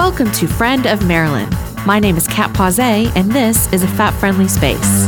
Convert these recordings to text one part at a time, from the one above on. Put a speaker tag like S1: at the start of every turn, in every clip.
S1: Welcome to Friend of Marilyn. My name is Kat Pausé, and this is a fat-friendly space.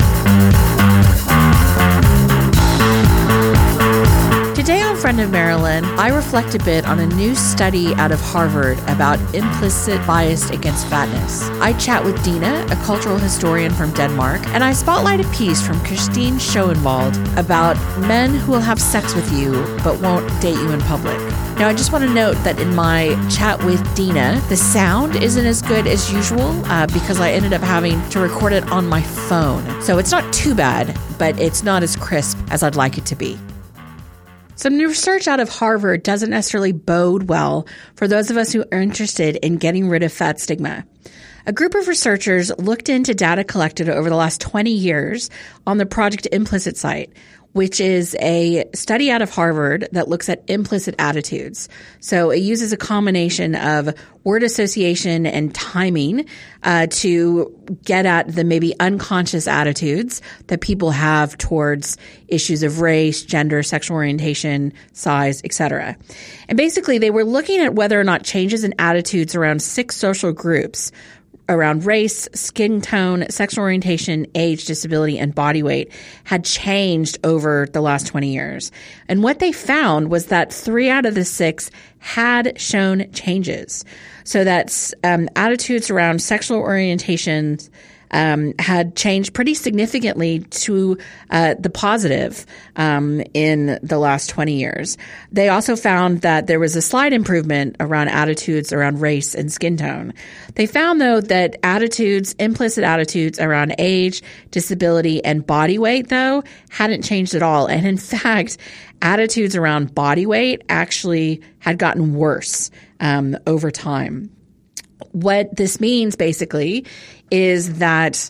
S1: Today on Friend of Marilyn, I reflect a bit on a new study out of Harvard about implicit bias against fatness. I chat with Dina, a cultural historian from Denmark, and I spotlight a piece from Christine Schoenwald about men who will have sex with you but won't date you in public. Now, I just want to note that in my chat with Dina, the sound isn't as good as usual because I ended up having to record it on my phone. So it's not too bad, but it's not as crisp as I'd like it to be. Some new research out of Harvard doesn't necessarily bode well for those of us who are interested in getting rid of fat stigma. A group of researchers looked into data collected over the last 20 years on the Project Implicit site, which is a study out of Harvard that looks at implicit attitudes. So it uses a combination of word association and timing to get at the maybe unconscious attitudes that people have towards issues of race, gender, sexual orientation, size, etc. And basically, they were looking at whether or not changes in attitudes around 6 social groups around race, skin tone, sexual orientation, age, disability, and body weight had changed over the last 20 years. And what they found was that 3 out of the 6 had shown changes. So that's attitudes around sexual orientations had changed pretty significantly to the positive in the last 20 years. They also found that there was a slight improvement around attitudes around race and skin tone. They found, though, that implicit attitudes around age, disability, and body weight, though, hadn't changed at all. And in fact, attitudes around body weight actually had gotten worse over time. What this means, basically, is that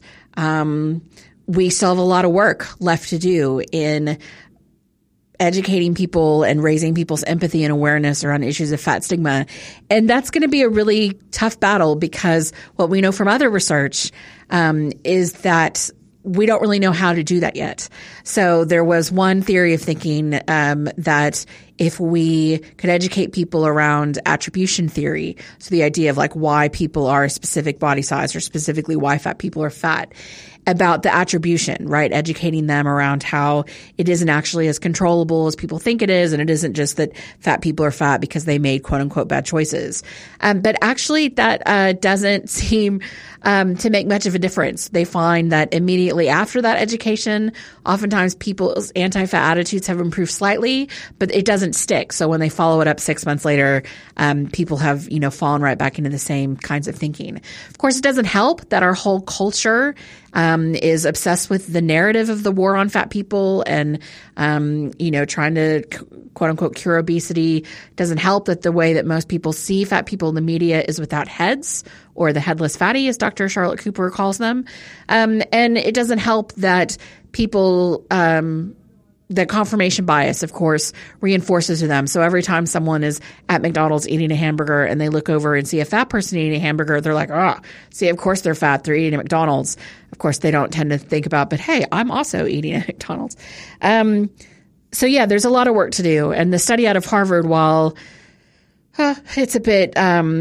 S1: we still have a lot of work left to do in educating people and raising people's empathy and awareness around issues of fat stigma. And that's going to be a really tough battle because what we know from other research is that we don't really know how to do that yet. So there was one theory of thinking that if we could educate people around attribution theory, so the idea of like why people are a specific body size or specifically why fat people are fat, about the attribution, right? Educating them around how it isn't actually as controllable as people think it is. And it isn't just that fat people are fat because they made quote unquote bad choices. But actually that doesn't seem to make much of a difference. They find that immediately after that education, oftentimes people's anti-fat attitudes have improved slightly, but it doesn't stick. So when they follow it up 6 months later, people have, fallen right back into the same kinds of thinking. Of course, it doesn't help that our whole culture is obsessed with the narrative of the war on fat people and, trying to quote unquote cure obesity. It doesn't help that the way that most people see fat people in the media is without heads, or the headless fatty, as Dr. Charlotte Cooper calls them. And it doesn't help that people, the confirmation bias, of course, reinforces to them. So every time someone is at McDonald's eating a hamburger and they look over and see a fat person eating a hamburger, they're like, see, of course they're fat. They're eating at McDonald's. Of course, they don't tend to think about, but hey, I'm also eating at McDonald's. So yeah, there's a lot of work to do. And the study out of Harvard, while it's a bit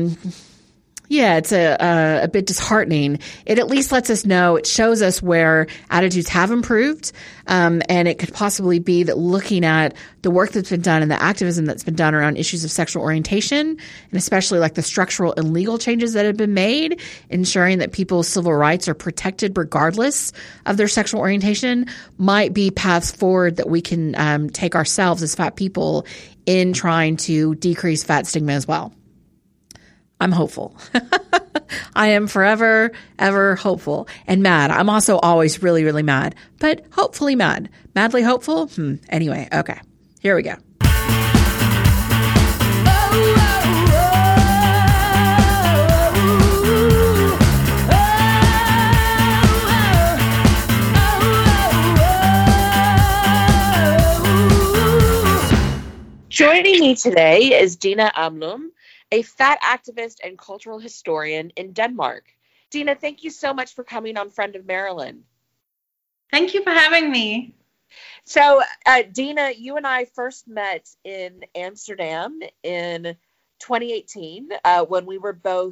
S1: it's a bit disheartening, it at least lets us know, it shows us where attitudes have improved. And it could possibly be that looking at the work that's been done and the activism that's been done around issues of sexual orientation, and especially like the structural and legal changes that have been made, ensuring that people's civil rights are protected regardless of their sexual orientation, might be paths forward that we can take ourselves as fat people in trying to decrease fat stigma as well. I'm hopeful. I am forever, ever hopeful and mad. I'm also always really, really mad, but hopefully mad. Madly hopeful? Anyway, okay. Here we go. Joining me today is Dina Amlum, a fat activist and cultural historian in Denmark. Dina, thank you so much for coming on Friend of Marilyn.
S2: Thank you for having me.
S1: So, Dina, you and I first met in Amsterdam in 2018 when we were both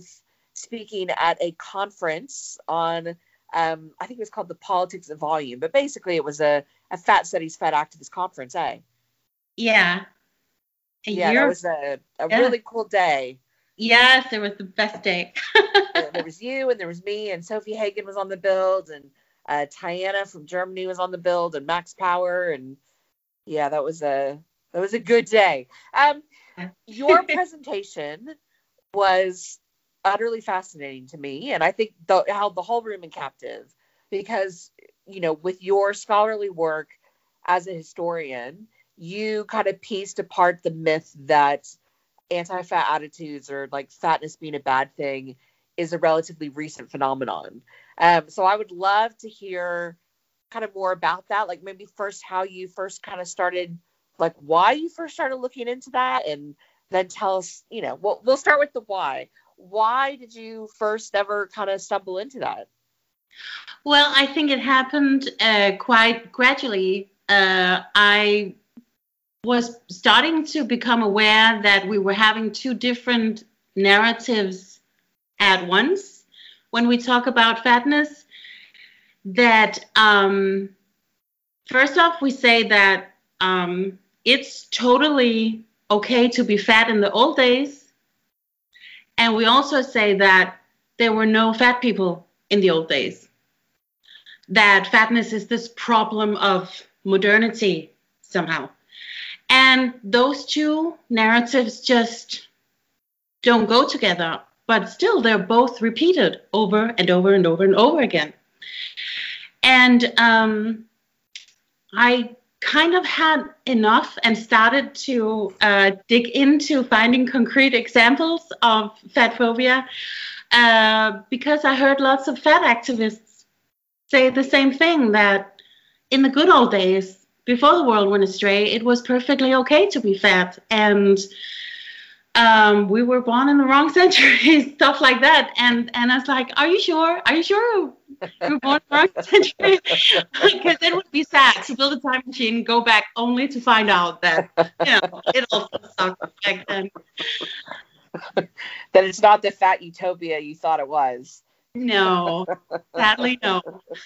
S3: speaking at a conference on, I think it was called The Politics of Volume, but basically it was a fat studies, fat activist conference, eh?
S2: Yeah.
S3: That was a really cool day.
S2: Yes, it was the best day.
S3: There was you and there was me and Sophie Hagen was on the build and Tiana from Germany was on the build and Max Power, and that was a good day. Your presentation was utterly fascinating to me, and I think held the whole room in captive because, with your scholarly work as a historian, you kind of pieced apart the myth that anti-fat attitudes or like fatness being a bad thing is a relatively recent phenomenon. So I would love to hear kind of more about that, like maybe first how you first kind of started, like why you first started looking into that, and then tell us, we'll start with the why. Why did you first ever kind of stumble into that?
S2: Well, I think it happened quite gradually. I was starting to become aware that we were having two different narratives at once when we talk about fatness. That first off, we say that it's totally okay to be fat in the old days. And we also say that there were no fat people in the old days. That fatness is this problem of modernity somehow. And those two narratives just don't go together, but still they're both repeated over and over and over and over again. And I kind of had enough and started to dig into finding concrete examples of fat phobia because I heard lots of fat activists say the same thing, that in the good old days, before the world went astray, it was perfectly okay to be fat, and we were born in the wrong century, stuff like that. And I was like, are you sure? Are you sure you were born in the wrong century? Because it would be sad to build a time machine, go back only to find out that, it all sucked back then.
S3: That it's not the fat utopia you thought it was.
S2: No, sadly, no.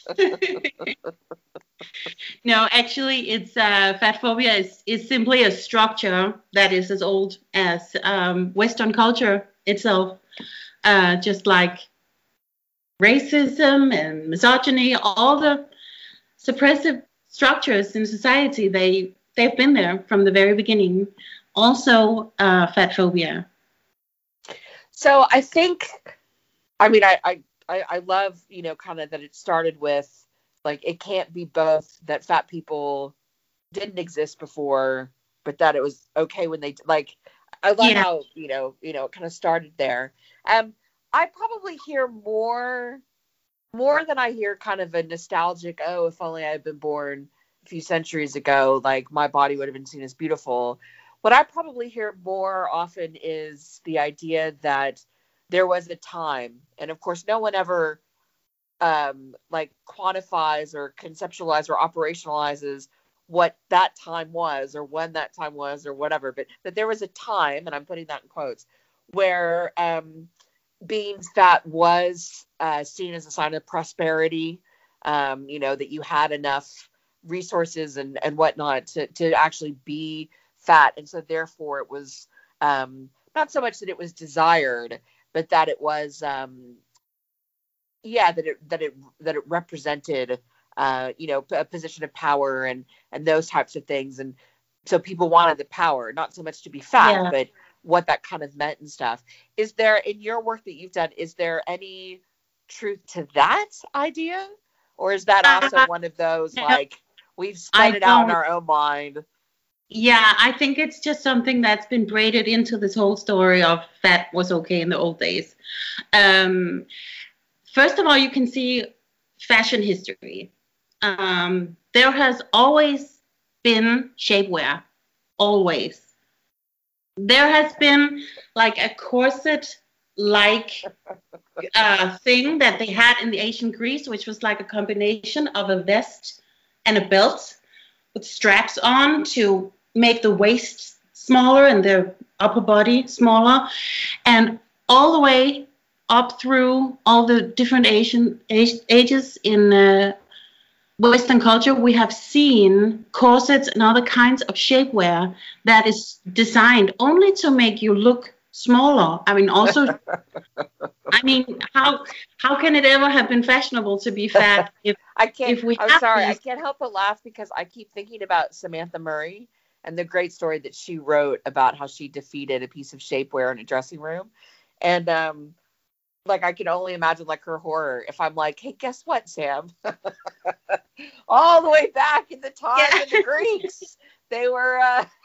S2: No, actually, it's fat phobia is simply a structure that is as old as Western culture itself. Just like racism and misogyny, all the suppressive structures in society, they've been there from the very beginning. Also, fat phobia.
S3: So I think, I love, kind of that it started with, like, it can't be both that fat people didn't exist before, but that it was okay when they, like, I love how, it kind of started there. I probably hear more than I hear kind of a nostalgic, oh, if only I had been born a few centuries ago, like my body would have been seen as beautiful. What I probably hear more often is the idea that there was a time, and of course no one ever like quantifies or conceptualizes or operationalizes what that time was or when that time was or whatever, but that there was a time, and I'm putting that in quotes, where being fat was seen as a sign of prosperity, that you had enough resources and whatnot to actually be fat. And so therefore it was not so much that it was desired, but that it was that it represented a position of power and those types of things. And so people wanted the power, not so much to be fat, but what that kind of meant and stuff. Is there, in your work that you've done, is there any truth to that idea? Or is that also one of those, like, we've spun it out in our own mind?
S2: Yeah, I think it's just something that's been braided into this whole story of fat was okay in the old days. First of all, you can see fashion history. There has always been shapewear, always. There has been like a corset-like thing that they had in the ancient Greece, which was like a combination of a vest and a belt with straps on to make the waist smaller and the upper body smaller. And all the way up through all the different ages in Western culture, we have seen corsets and other kinds of shapewear that is designed only to make you look smaller. I mean, also, I mean, how can it ever have been fashionable to be fat if
S3: I can't?
S2: if we
S3: I'm
S2: have
S3: sorry, I
S2: these?
S3: can't help but laugh because I keep thinking about Samantha Murray and the great story that she wrote about how she defeated a piece of shapewear in a dressing room, and like I can only imagine like her horror if I'm like, hey, guess what, Sam? All the way back in the time of the Greeks, they were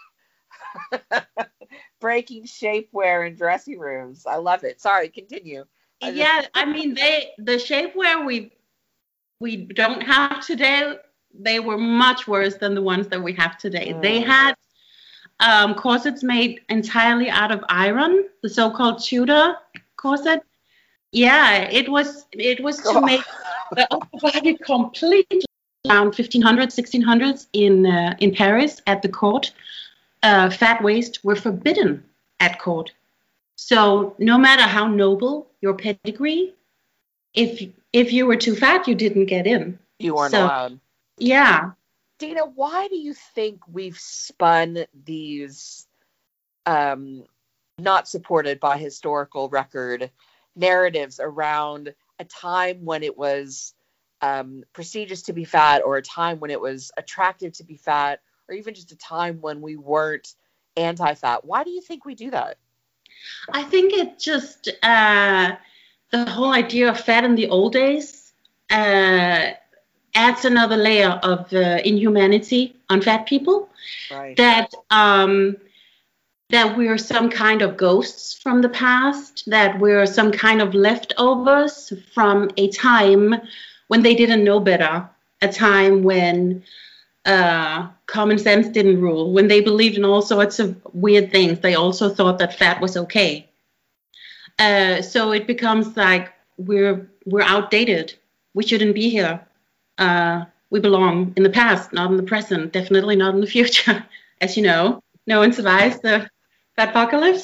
S3: breaking shapewear in dressing rooms. I love it. Sorry, continue.
S2: Yeah, I mean, the shapewear we don't have today, they were much worse than the ones that we have today. They had corsets made entirely out of iron, the so-called Tudor corset. Yeah, it was to make the upper body completely around 1500s, 1600s in Paris at the court. Fat waist were forbidden at court. So no matter how noble your pedigree, if you were too fat, you didn't get in.
S3: You weren't allowed.
S2: Yeah.
S3: Dina, why do you think we've spun these not supported by historical record narratives around a time when it was prestigious to be fat, or a time when it was attractive to be fat, or even just a time when we weren't anti-fat? Why do you think we do that?
S2: I think it just the whole idea of fat in the old days adds another layer of inhumanity on fat people.
S3: Right.
S2: That we're some kind of ghosts from the past, that we're some kind of leftovers from a time when they didn't know better, a time when common sense didn't rule, when they believed in all sorts of weird things. They also thought that fat was okay. So it becomes like we're outdated. We shouldn't be here. We belong in the past, not in the present, definitely not in the future. As you know, no one survives the fatpocalypse.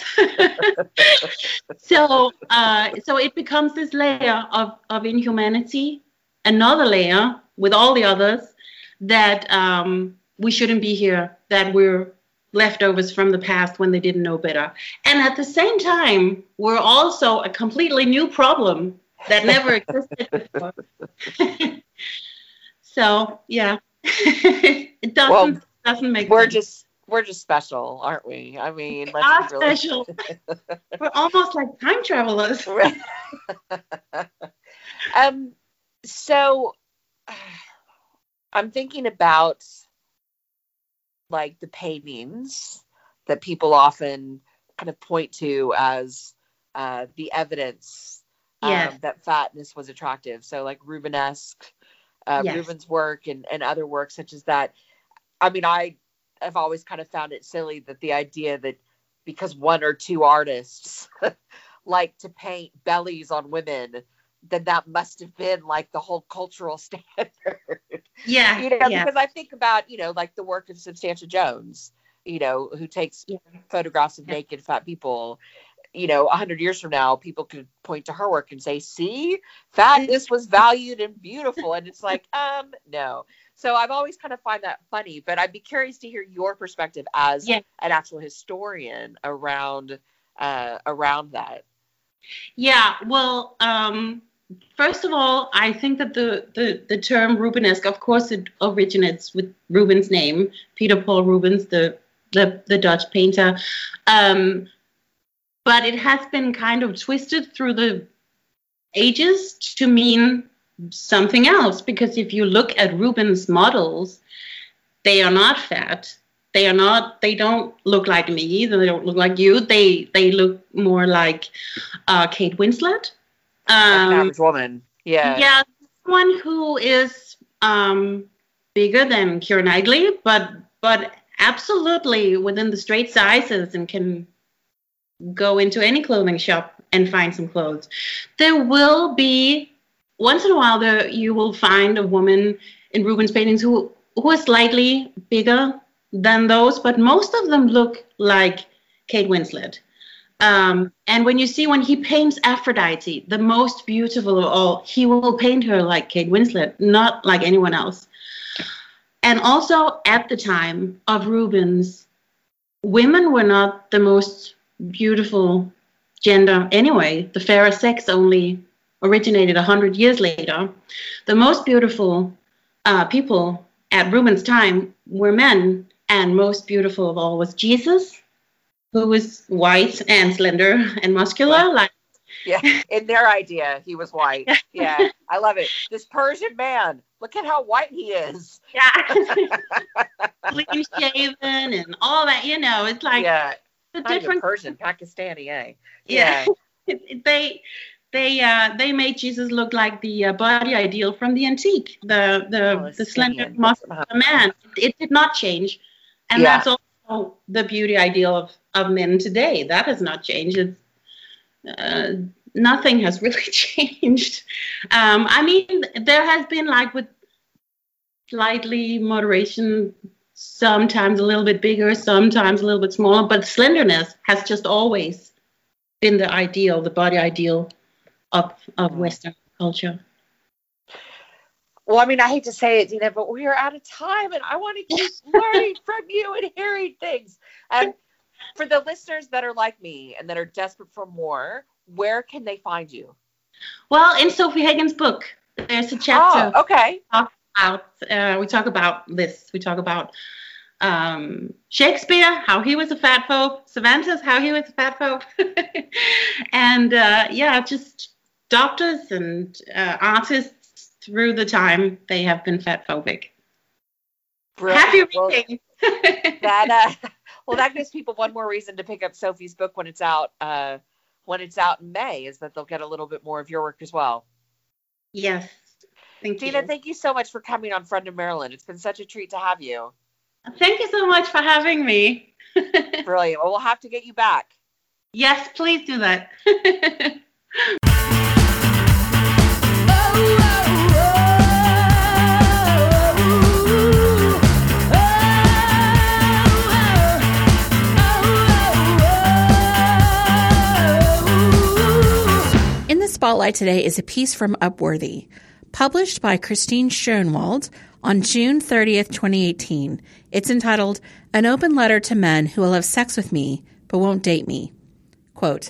S2: So it becomes this layer of inhumanity, another layer with all the others, that we shouldn't be here, that we're leftovers from the past when they didn't know better. And at the same time, we're also a completely new problem that never existed before. So, yeah, it doesn't make sense.
S3: We're just special, aren't we? I mean,
S2: we are special. We're almost like time travelers.
S3: So I'm thinking about like the paintings that people often kind of point to as the evidence that fatness was attractive. So like Rubenesque, Rubens' work and other works such as that. I mean, I've always kind of found it silly that the idea that because one or two artists like to paint bellies on women, then that must have been like the whole cultural standard.
S2: Yeah.
S3: Because I think about, like the work of Substantia Jones, who takes photographs of naked fat people. 100 years from now, people could point to her work and say, see, fatness was valued and beautiful. And it's like, no. So I've always kind of find that funny, but I'd be curious to hear your perspective as an actual historian around that.
S2: Yeah, well, first of all, I think that the term Rubenesque, of course, it originates with Rubens' name, Peter Paul Rubens, the Dutch painter. But it has been kind of twisted through the ages to mean something else. Because if you look at Rubens' models, they are not fat. They don't look like me. They don't look like you. They look more like Kate Winslet.
S3: An average woman. Yeah.
S2: Yeah, someone who is bigger than Keira Knightley, but absolutely within the straight sizes and can go into any clothing shop and find some clothes. There will be, once in a while, you will find a woman in Rubens' paintings who is slightly bigger than those, but most of them look like Kate Winslet. And when he paints Aphrodite, the most beautiful of all, he will paint her like Kate Winslet, not like anyone else. And also at the time of Rubens, women were not the most beautiful gender anyway. The fairer sex only originated 100 years later. The most beautiful people at Rubens' time were men, and most beautiful of all was Jesus, who was white and slender and muscular.
S3: Yeah, in their idea, he was white. Yeah, I love it. This Persian man, look at how white he is.
S2: Yeah. Clean shaven and all that, it's like the different Persian,
S3: Pakistani, eh?
S2: Yeah. They made Jesus look like the body ideal from the antique, the slender muscular man. It did not change. And that's also the beauty ideal of men today. That has not changed. It's nothing has really changed. I mean, there has been, like, with slightly moderation, sometimes a little bit bigger, sometimes a little bit smaller, but slenderness has just always been the ideal, the body ideal of Western culture.
S3: Well, I mean, I hate to say it, Dina, but we are out of time, and I want to keep learning from you and hearing things. And for the listeners that are like me and that are desperate for more, where can they find you?
S2: Well, in Sofie Hagen's book, there's a chapter.
S3: Oh, okay.
S2: We talk about this. We talk about Shakespeare, how he was a fatphobe, Cervantes, how he was a fatphobe, and just doctors and artists through the time they have been fatphobic. Happy reading.
S3: That gives people one more reason to pick up Sofie's book when it's out. When it's out in May, is that they'll get a little bit more of your work as well.
S2: Yes.
S3: Dina, thank you so much for coming on Friend of Maryland. It's been such a treat to have you.
S2: Thank you so much for having me.
S3: Brilliant. Well, we'll have to get you back.
S2: Yes, please do that.
S1: In the spotlight today is a piece from Upworthy, published by Christine Schoenwald on June 30th, 2018. It's entitled, An Open Letter to Men Who Will Have Sex With Me But Won't Date Me. Quote,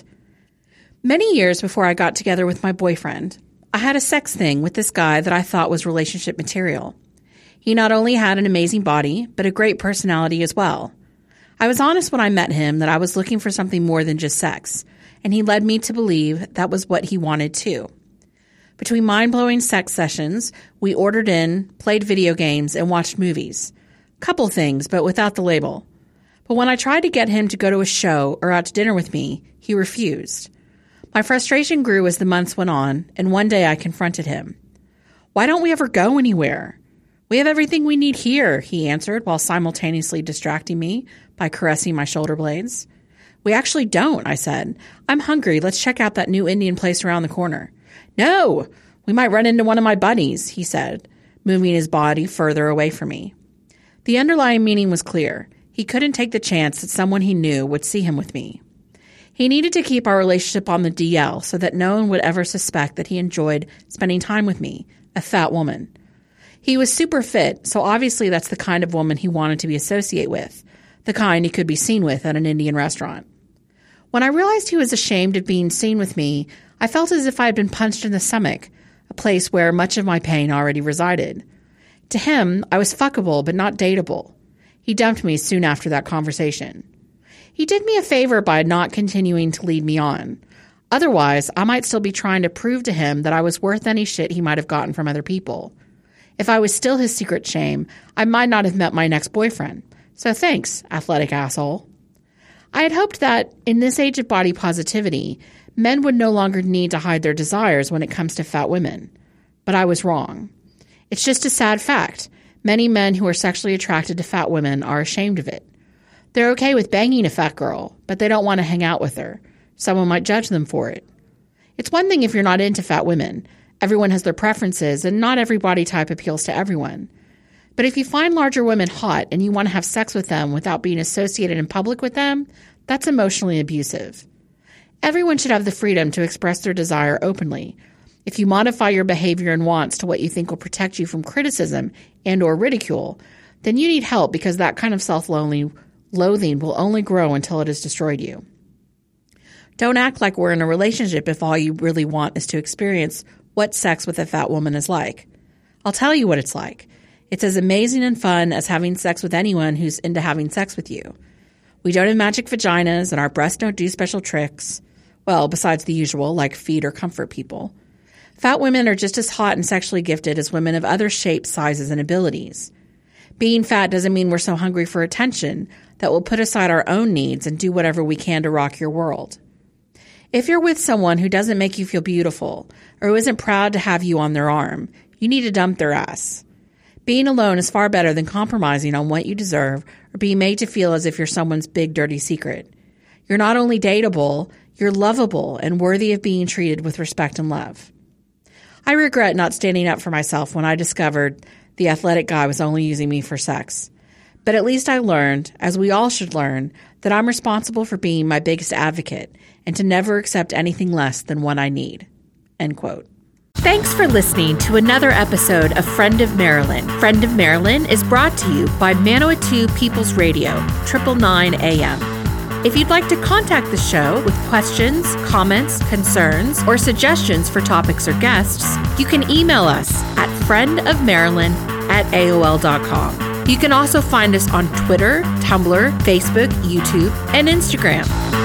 S1: many years before I got together with my boyfriend, I had a sex thing with this guy that I thought was relationship material. He not only had an amazing body, but a great personality as well. I was honest when I met him that I was looking for something more than just sex, and he led me to believe that was what he wanted too. Between mind-blowing sex sessions, we ordered in, played video games, and watched movies. Couple things, but without the label. But when I tried to get him to go to a show or out to dinner with me, he refused. My frustration grew as the months went on, and one day I confronted him. Why don't we ever go anywhere? We have everything we need here, he answered while simultaneously distracting me by caressing my shoulder blades. We actually don't, I said. I'm hungry. Let's check out that new Indian place around the corner. No, we might run into one of my buddies, he said, moving his body further away from me. The underlying meaning was clear. He couldn't take the chance that someone he knew would see him with me. He needed to keep our relationship on the DL so that no one would ever suspect that he enjoyed spending time with me, a fat woman. He was super fit, so obviously that's the kind of woman he wanted to be associated with, the kind he could be seen with at an Indian restaurant. When I realized he was ashamed of being seen with me, I felt as if I had been punched in the stomach, a place where much of my pain already resided. To him, I was fuckable but not dateable. He dumped me soon after that conversation. He did me a favor by not continuing to lead me on. Otherwise, I might still be trying to prove to him that I was worth any shit he might have gotten from other people. If I was still his secret shame, I might not have met my next boyfriend. So thanks, athletic asshole. I had hoped that, in this age of body positivity, men would no longer need to hide their desires when it comes to fat women. But I was wrong. It's just a sad fact. Many men who are sexually attracted to fat women are ashamed of it. They're okay with banging a fat girl, but they don't want to hang out with her. Someone might judge them for it. It's one thing if you're not into fat women. Everyone has their preferences, and not every body type appeals to everyone. But if you find larger women hot and you want to have sex with them without being associated in public with them, that's emotionally abusive. Everyone should have the freedom to express their desire openly. If you modify your behavior and wants to what you think will protect you from criticism and or ridicule, then you need help because that kind of self-loathing will only grow until it has destroyed you. Don't act like we're in a relationship if all you really want is to experience what sex with a fat woman is like. I'll tell you what it's like. It's as amazing and fun as having sex with anyone who's into having sex with you. We don't have magic vaginas and our breasts don't do special tricks. Well, besides the usual, like feed or comfort people. Fat women are just as hot and sexually gifted as women of other shapes, sizes, and abilities. Being fat doesn't mean we're so hungry for attention that we'll put aside our own needs and do whatever we can to rock your world. If you're with someone who doesn't make you feel beautiful or who isn't proud to have you on their arm, you need to dump their ass. Being alone is far better than compromising on what you deserve or being made to feel as if you're someone's big dirty secret. You're not only dateable, you're lovable and worthy of being treated with respect and love. I regret not standing up for myself when I discovered the athletic guy was only using me for sex. But at least I learned, as we all should learn, that I'm responsible for being my biggest advocate and to never accept anything less than what I need. End quote. Thanks for listening to another episode of Friend of Marilyn. Friend of Marilyn is brought to you by Manawatu People's Radio, 999 AM. If you'd like to contact the show with questions, comments, concerns, or suggestions for topics or guests, you can email us at friendofmarilyn@aol.com. You can also find us on Twitter, Tumblr, Facebook, YouTube, and Instagram.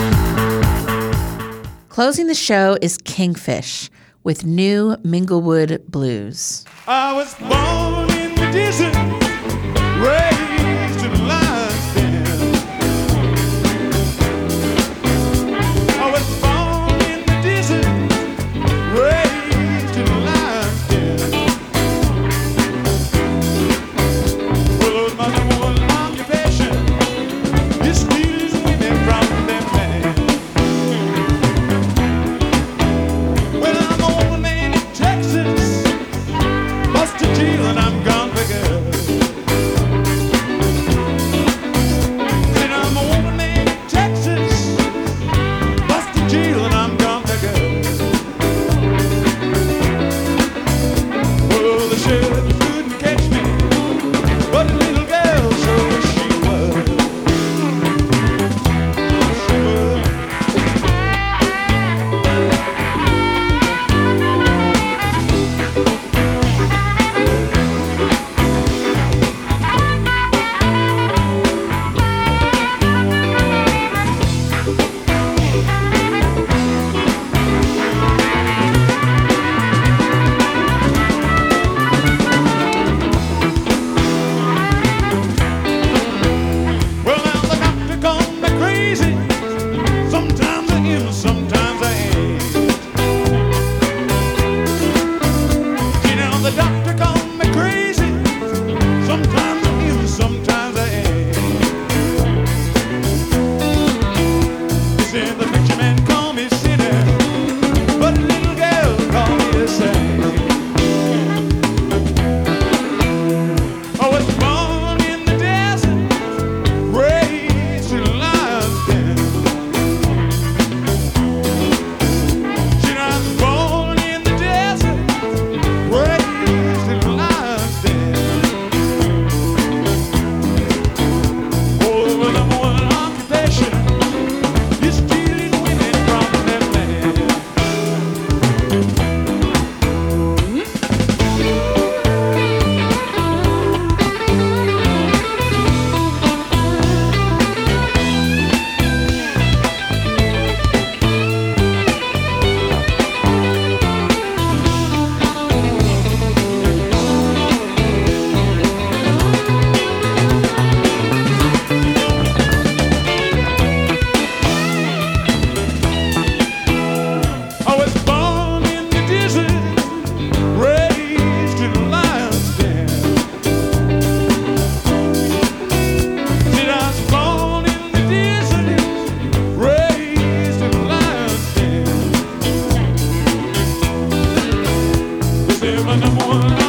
S1: Closing the show is Kingfish with New Minglewood Blues.
S4: I was born in the desert, raised in a lion's den. I was born in the desert, raised in a lion's den. Well, it was my number one occupation, is stealing women from them men. Well, I'm an old man in Texas, busted jail and I'm gone for good. Said I'm a woman man in Texas, busted jail and I'm gone for good. Well, the sheriff couldn't catch me, but the little girl sure she would. She would. Well, now the doctor called me crazy. Sometimes I am, sometimes I ain't. See, now the doctor called me crazy. Sometimes I am, sometimes I ain't. He said the preacher man called me sinner, but the little girl called me a saint. I was born in the desert, raised in a lion's den. See, I was born in the desert, raised in a lion's den. Oh, the number one occupation is stealing women from them men. I was born in the desert, raised in a lion's den. Said I was born in the desert, raised in a lion's den. This is my number one